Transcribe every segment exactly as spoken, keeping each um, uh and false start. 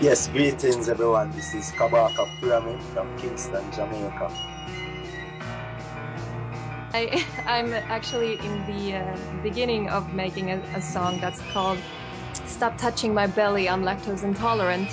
Yes, greetings everyone. This is Kabaka Pyramid from Kingston, Jamaica. I, I'm actually in the uh, beginning of making a, a song that's called Stop Touching My Belly, I'm Lactose Intolerant.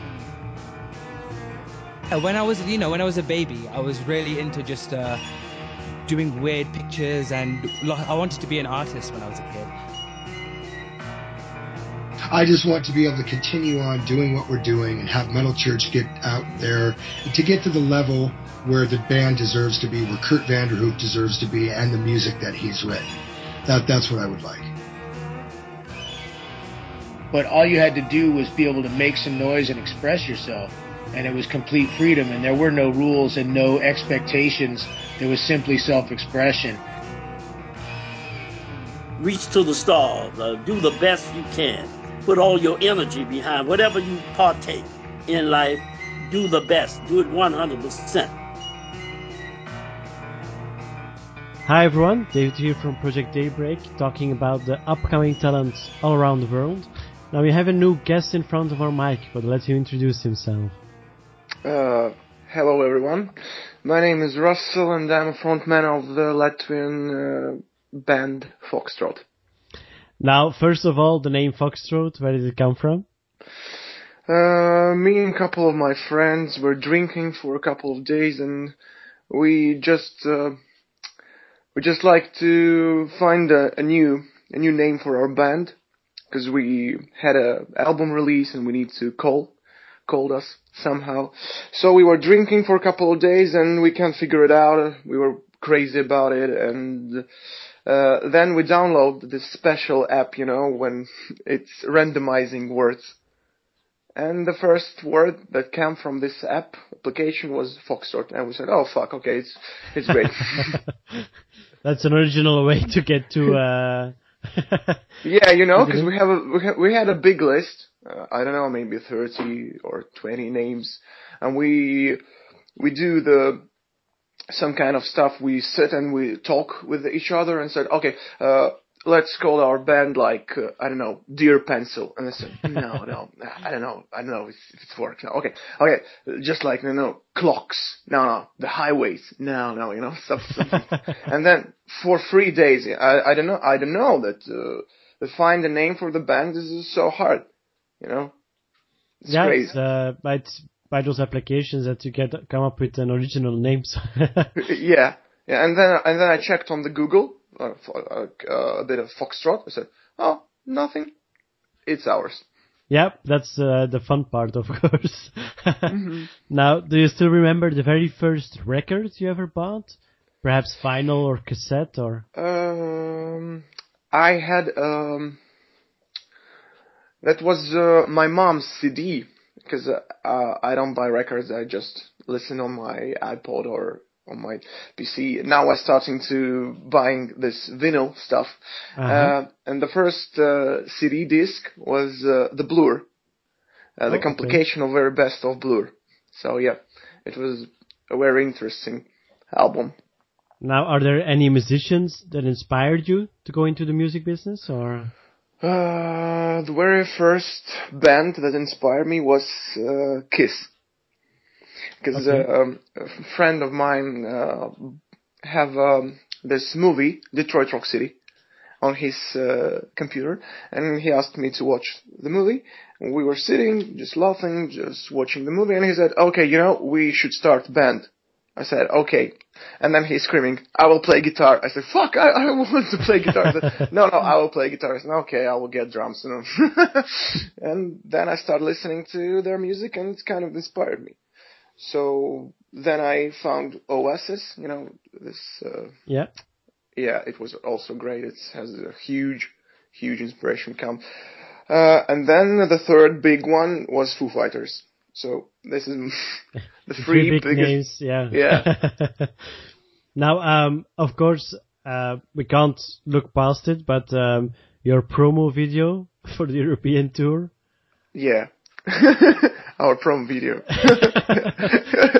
When I was, you know, when I was a baby, I was really into just uh, doing weird pictures, and I wanted to be an artist when I was a kid. I just want to be able to continue on doing what we're doing and have Metal Church get out there to get to the level where the band deserves to be, where Kurt Vanderhoof deserves to be, and the music that he's written. That that's what I would like. But all you had to do was be able to make some noise and express yourself, and it was complete freedom, and there were no rules and no expectations. There was simply self-expression. Reach to the stars. Uh, do the best you can. Put all your energy behind whatever you partake in life. Do the best. Do it one hundred percent. Hi everyone, David here from Project Daybreak, talking about the upcoming talents all around the world. Now we have a new guest in front of our mic, but let him introduce himself. Uh, hello everyone. My name is Russell and I'm a frontman of the Latvian uh, band Foxtrot. Now, first of all, the name Foxtrot, where did it come from? Uh, me and a couple of my friends were drinking for a couple of days, and we just uh, we just like to find a, a new a new name for our band, because we had a album release and we need to call called us somehow. So we were drinking for a couple of days and we can't figure it out. We were crazy about it, and Uh, then we download this special app, you know, when it's randomizing words. And the first word that came from this app application was Foxtrot. And we said, oh, fuck, okay, it's it's great. That's an original way to get to... Uh... yeah, you know, because we, have a, we, ha- we had a big list. Uh, I don't know, maybe thirty or twenty names. And we we do the... some kind of stuff. We sit and we talk with each other and said, okay, uh, let's call our band like, uh, I don't know, Dear Pencil. And I said, no, no, I don't know. I don't know if, if it's works. No, okay, okay, just like, you know, clocks. No, no, the highways. No, no, you know, stuff, something. And then for three days, I, I don't know, I don't know that, uh, to find a name for the band is so hard, you know? It's yeah, crazy. It's, uh, but by those applications that you get come up with an original name. yeah, yeah, and then and then I checked on the Google uh, for, uh, a bit of Foxtrot. I said, oh, nothing. It's ours. Yeah, that's uh, the fun part, of course. mm-hmm. Now, do you still remember the very first record you ever bought? Perhaps vinyl or cassette or? Um, I had um, that was uh, my mom's C D. Because uh, uh, I don't buy records, I just listen on my iPod or on my P C. Now I'm starting to buying this vinyl stuff. Uh-huh. Uh, and the first uh, C D disc was uh, the Blur, uh, the oh, complication okay. of very best of Blur. So yeah, it was a very interesting album. Now, are there any musicians that inspired you to go into the music business, or? Uh, the very first band that inspired me was uh, Kiss. Because okay. uh, um, a friend of mine uh, have um, this movie, Detroit Rock City, on his uh, computer, and he asked me to watch the movie. And we were sitting, just laughing, just watching the movie, and he said, okay, you know, we should start a band. I said, okay. And then he's screaming, I will play guitar. I said, fuck, I, I want to play guitar. I said, no, no, I will play guitar. I said, okay, I will get drums. You know? And then I started listening to their music, and it kind of inspired me. So then I found Oasis, you know, this... Uh, yeah. Yeah, it was also great. It has a huge, huge inspiration camp. Uh, and then the third big one was Foo Fighters. So this is the three, three big biggest names, yeah. Yeah. Now, um, of course, uh, we can't look past it, but um, your promo video for the European tour. Yeah, our promo video.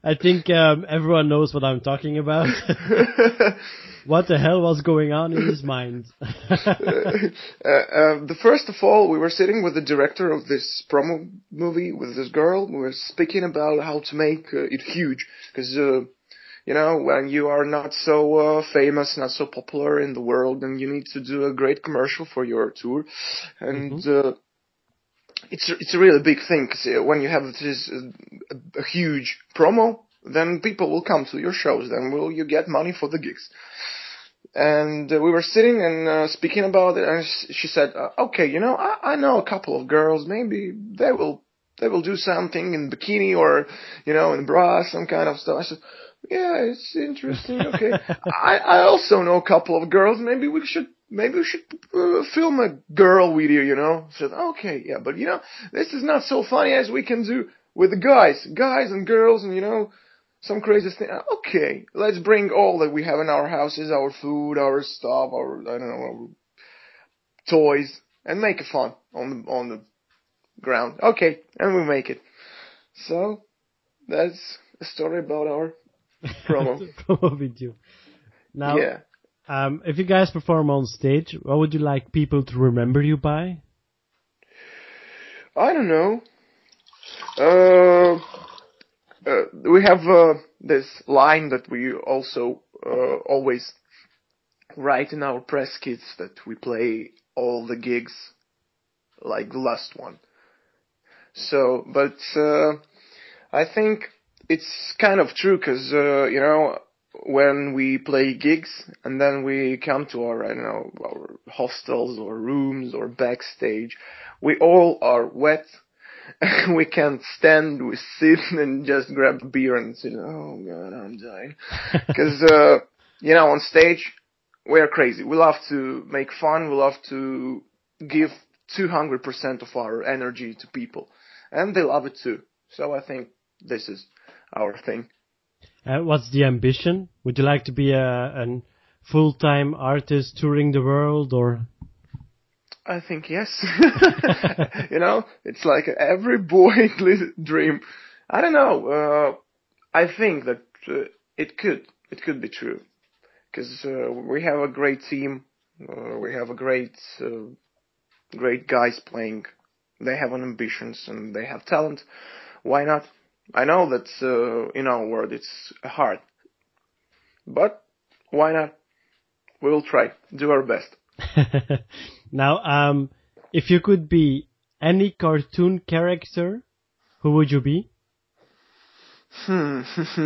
I think um, everyone knows what I'm talking about. What the hell was going on in his mind? uh, uh, the first of all, we were sitting with the director of this promo movie with this girl. We were speaking about how to make uh, it huge, because uh, you know, when you are not so uh, famous, not so popular in the world, then you need to do a great commercial for your tour, and mm-hmm. uh, it's it's a really big thing. Because uh, when you have this uh, a, a huge promo, then people will come to your shows. Then will you get money for the gigs? And uh, we were sitting and uh, speaking about it, and she said, uh, "Okay, you know, I, I know a couple of girls. Maybe they will they will do something in bikini or, you know, in bra, some kind of stuff." I said, "Yeah, it's interesting. Okay, I I also know a couple of girls. Maybe we should maybe we should uh, film a girl video, you know." I said, "Okay, yeah, but you know, this is not so funny as we can do with the guys, guys and girls, and you know." Some crazy thing. Okay, let's bring all that we have in our houses, our food, our stuff, our, I don't know, our toys, and make it fun on the, on the ground. Okay, and we make it. So, that's a story about our promo. promo video. Now, yeah. um, if you guys perform on stage, what would you like people to remember you by? I don't know. Uh... Uh, we have uh, this line that we also uh, always write in our press kits that we play all the gigs like the last one. So, but uh, I think it's kind of true because, uh, you know, when we play gigs and then we come to our, I don't know, our hostels or rooms or backstage, we all are wet. We can't stand, we sit and just grab a beer and say, "Oh God, I'm dying." Because, uh, you know, on stage, we're crazy. We love to make fun, we love to give two hundred percent of our energy to people. And they love it too. So I think this is our thing. Uh, what's the ambition? Would you like to be a, a full-time artist touring the world, or...? I think yes. You know, it's like every boy's dream. I don't know. Uh, I think that uh, it could. It could be true. Because uh, we have a great team. Uh, we have a great, uh, great guys playing. They have an ambitions and they have talent. Why not? I know that uh, in our world it's hard. But why not? We will try. Do our best. Now, um, if you could be any cartoon character, who would you be? Hmm.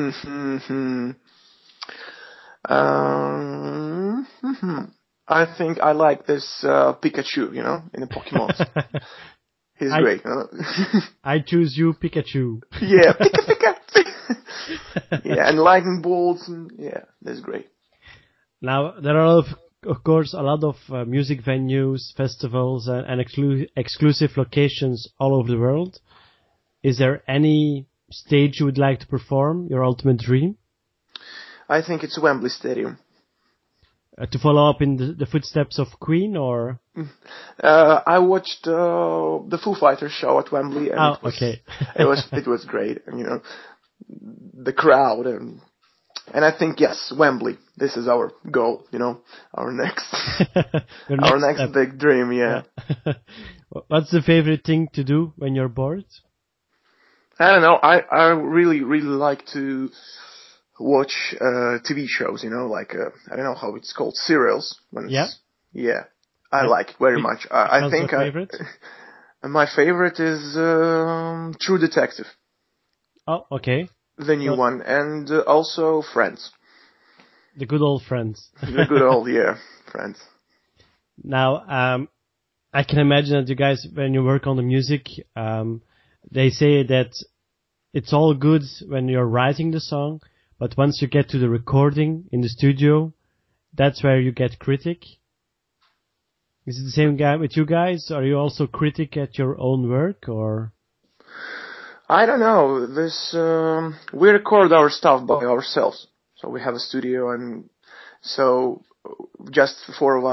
um, I think I like this uh, Pikachu, you know, in the Pokemon. He's I, great. Huh? I choose you, Pikachu. Yeah, Pika Pika. Yeah, and lightning bolts, and yeah, that's great. Now, there are a lot of Of course, a lot of uh, music venues, festivals, and, and exclu- exclusive locations all over the world. Is there any stage you would like to perform, your ultimate dream? I think it's Wembley Stadium. Uh, to follow up in the, the footsteps of Queen, or? Uh, I watched uh, the Foo Fighters show at Wembley, and oh, it was, okay. it was it was great, and you know, the crowd and. And I think, yes, Wembley. This is our goal, you know, our next, next our next step. Big dream, yeah. yeah. What's the favorite thing to do when you're bored? I don't know. I, I really, really like to watch uh, T V shows, you know, like, uh, I don't know how it's called, serials. When it's, yeah? Yeah. I yeah. like it very much. I, I think your favorite? I, my favorite is um, True Detective. Oh, okay. The new well, one, and uh, also Friends. The good old Friends. The good old, yeah, Friends. Now, um, I can imagine that you guys, when you work on the music, um, they say that it's all good when you're writing the song, but once you get to the recording in the studio, that's where you get critic. Is it the same guy with you guys? Are you also critic at your own work, or...? I don't know. This um, we record our stuff by ourselves, so we have a studio, and so just four of us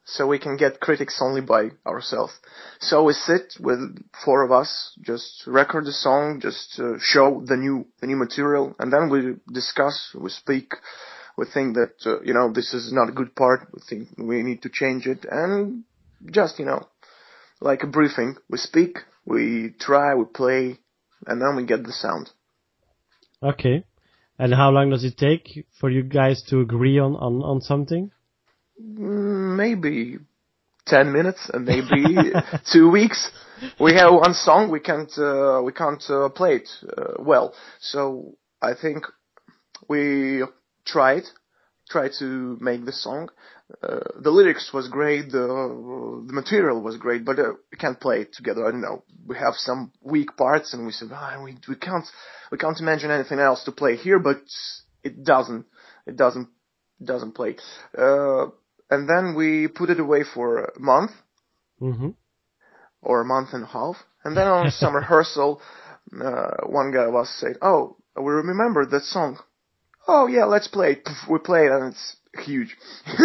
so we can get critics only by ourselves. So we sit with four of us, just record the song, just uh, show the new the new material, and then we discuss, we speak, we think that uh, you know this is not a good part, we think we need to change it, and just you know like a briefing, we speak, we try, we play, and then we get the sound. Okay. And how long does it take for you guys to agree on, on, on something? Maybe ten minutes, and maybe two weeks. We have one song, we can't uh, we can't uh, play it uh, well. So I think we tried, tried to make the song. Uh, the lyrics was great, the the material was great, but uh, we can't play it together. I don't know. We have some weak parts, and we said, ah, we we can't we can't imagine anything else to play here, but it doesn't it doesn't it doesn't play. Uh, and then we put it away for a month, mm-hmm. or a month and a half, and then on some rehearsal, uh, one guy was saying, "Oh, we remember that song. Oh yeah, let's play it." We play it, and it's huge.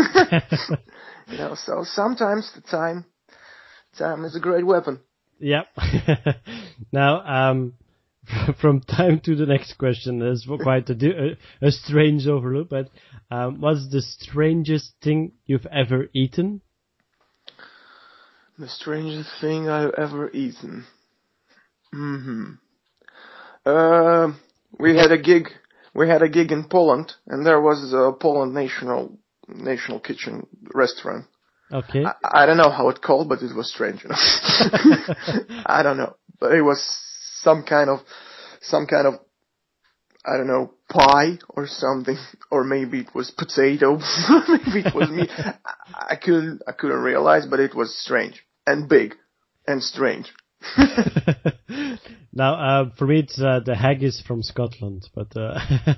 You know, so sometimes the time, time is a great weapon. Yep. Now, um, from time to the next question, there's quite a, di- a, a strange overlook, but um, what's the strangest thing you've ever eaten? The strangest thing I've ever eaten. Hmm. Uh, we had a gig. We had a gig in Poland, and there was a Poland national national kitchen restaurant. Okay. I, I don't know how it called, but it was strange. You know? I don't know, but it was some kind of some kind of I don't know pie or something, or maybe it was potato, maybe it was meat. I, I couldn't I couldn't realize, but it was strange and big and strange. Now, uh, for me, it's uh, the haggis from Scotland, but uh,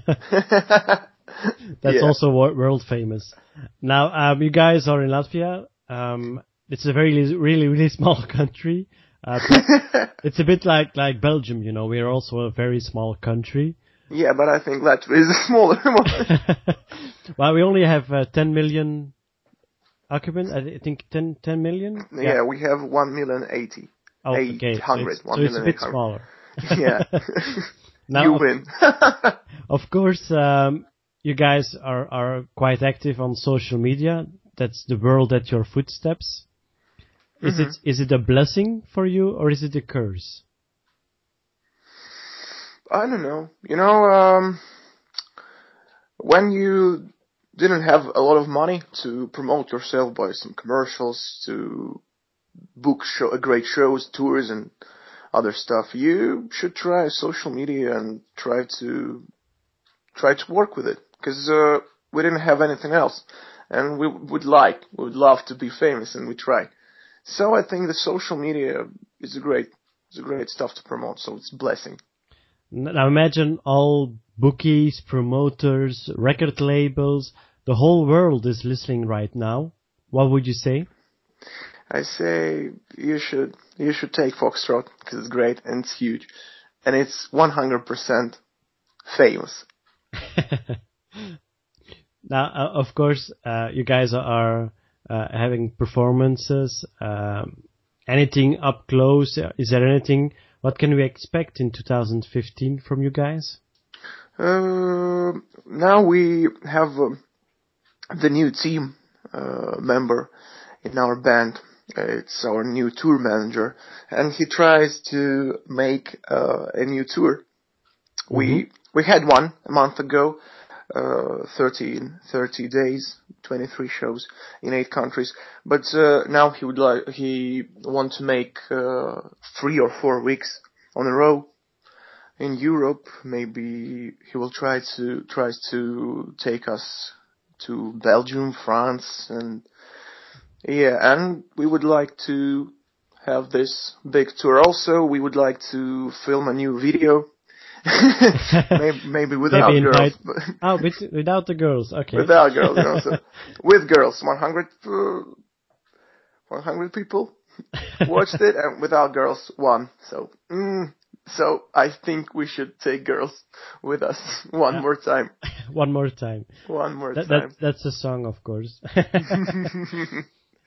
that's yeah. also wor- world famous. Now, um, you guys are in Latvia. Um, it's a very, really, really small country. Uh, it's a bit like like Belgium, you know. We are also a very small country. Yeah, but I think Latvia is a smaller one. Well, we only have uh, ten million occupants. I think ten, ten million. Yeah, yeah, we have one million eighty. Oh, okay. eight hundred, so it's, so it's a bit smaller. Yeah. Now, you win. Of course, um, you guys are, are quite active on social media. That's the world at your footsteps. Is mm-hmm. it is it a blessing for you, or is it a curse? I don't know. You know, um, when you didn't have a lot of money to promote yourself by some commercials, to book show, great shows, tours, and other stuff, you should try social media and try to try to work with it, because uh, we didn't have anything else, and we would like, we would love to be famous, and we try. So I think the social media is a great, is a great stuff to promote. So it's a blessing. Now imagine all bookies, promoters, record labels, the whole world is listening right now. What would you say? I say you should you should take Foxtrot, because it's great and it's huge, and it's one hundred percent famous. Now, uh, of course, uh, you guys are uh, having performances. Um, anything up close? Is there anything? What can we expect in two thousand fifteen from you guys? Uh, now we have uh, the new team uh, member in our band. It's our new tour manager, and he tries to make uh, a new tour. Mm-hmm. We we had one a month ago, uh, thirty, thirty days, twenty-three shows in eight countries. But uh, now he would like he want to make uh, three or four weeks on a row in Europe. Maybe he will try to tries to take us to Belgium, France, and. Yeah, and we would like to have this big tour. Also, we would like to film a new video. maybe, maybe without maybe girls. But oh, with, without the girls, okay. Without girls, you know, so with girls. one hundred, uh, one hundred people watched it, and without girls, one. So, mm, so I think we should take girls with us one yeah. more time. One more time. One more that, time. That, that's a song, of course.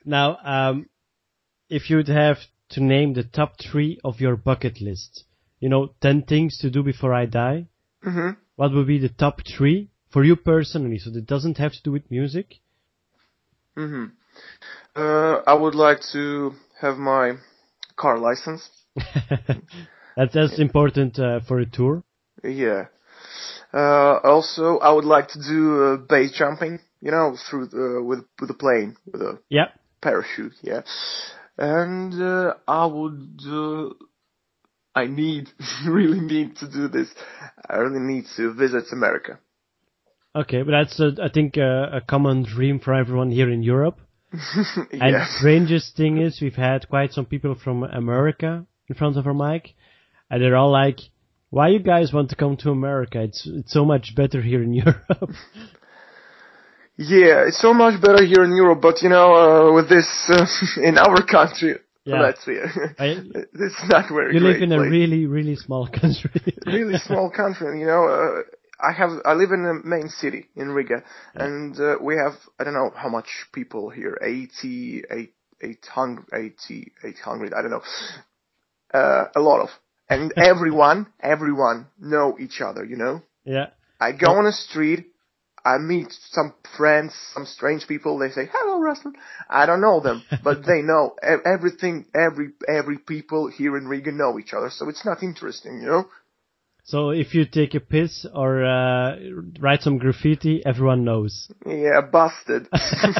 Now, um, if you'd have to name the top three of your bucket list, you know, ten things to do before I die, hmm what would be the top three for you personally? So that doesn't have to do with music. hmm Uh, I would like to have my car license. That's, that's important uh, for a tour. Yeah. Uh, also, I would like to do uh, base jumping. You know, through the, with with a plane with a Yeah. parachute. Yeah. And uh, I would. Uh, I need really need to do this. I really need to visit America. Okay, but that's, uh, I think, uh, a common dream for everyone here in Europe. And Yeah. strangest thing is, we've had quite some people from America in front of our mic, and they're all like, "Why you guys want to come to America? It's it's so much better here in Europe." Yeah, it's so much better here in Europe, but you know, uh, with this uh, in our country, Yeah. let's see, I- it's not very You great live in a place. really, really small country. really small country. You know, uh, I have I live in the main city in Riga, and uh, we have I don't know how much people here, eighty, eight, eight hundred, eighty, eight hundred, I don't know, uh, a lot of, and everyone, everyone know each other. You know, Yeah. I go on the street. I meet some friends, some strange people. They say, "Hello, Ruslan." I don't know them, but they know E- everything. Every every people here in Riga know each other, so it's not interesting, you know. So if you take a piss or uh, write some graffiti, everyone knows. Yeah, busted.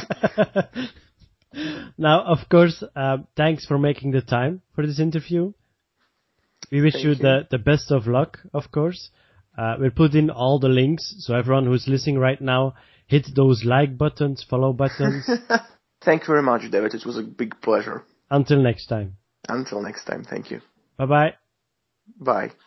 Now, of course, uh, thanks for making the time for this interview. We wish Thank you, you. the the best of luck, of course. Uh, we'll put in all the links, so everyone who's listening right now, hit those like buttons, follow buttons. Thank you very much, David. It was a big pleasure. Until next time. Until next time, thank you. Bye-bye. Bye.